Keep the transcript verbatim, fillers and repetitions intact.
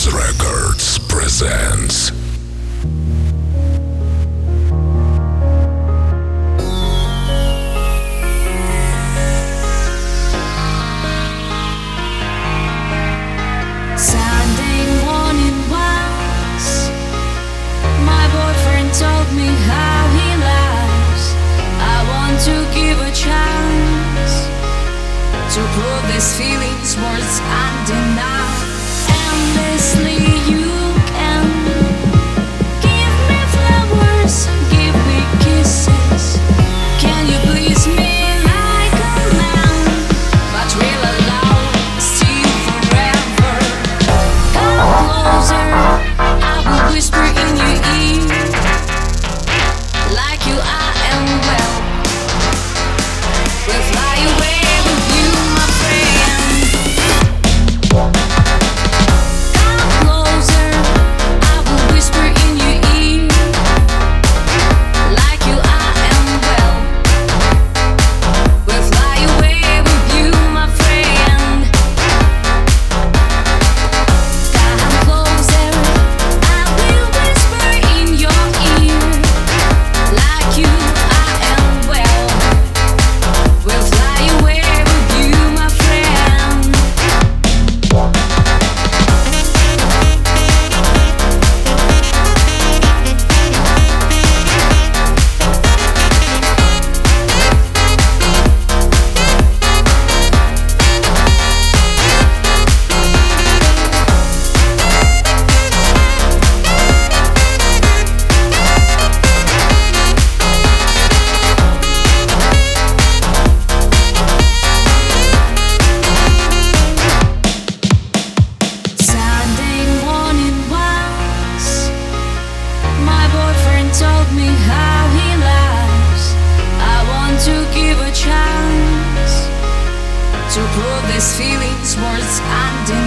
Records presents. Sunday morning once, my boyfriend told me how he lies. I want to give a chance to prove these feelings words undeniable. Endlessly you can give me flowers, give me kisses. Can you please me like a man, but real love still forever? Come closer, I will whisper in your ear, like you I am well. We'll fly away with you, my friend. Come closer, I will whisper in your ear, like you I am well. We'll fly away with you, my friend. Come closer, I will whisper in your ear, like you I am well. We'll fly away with you, my friend. Sunday morning once, my boyfriend told me how he lies. I want to give a chance to prove these feelings words undeniable.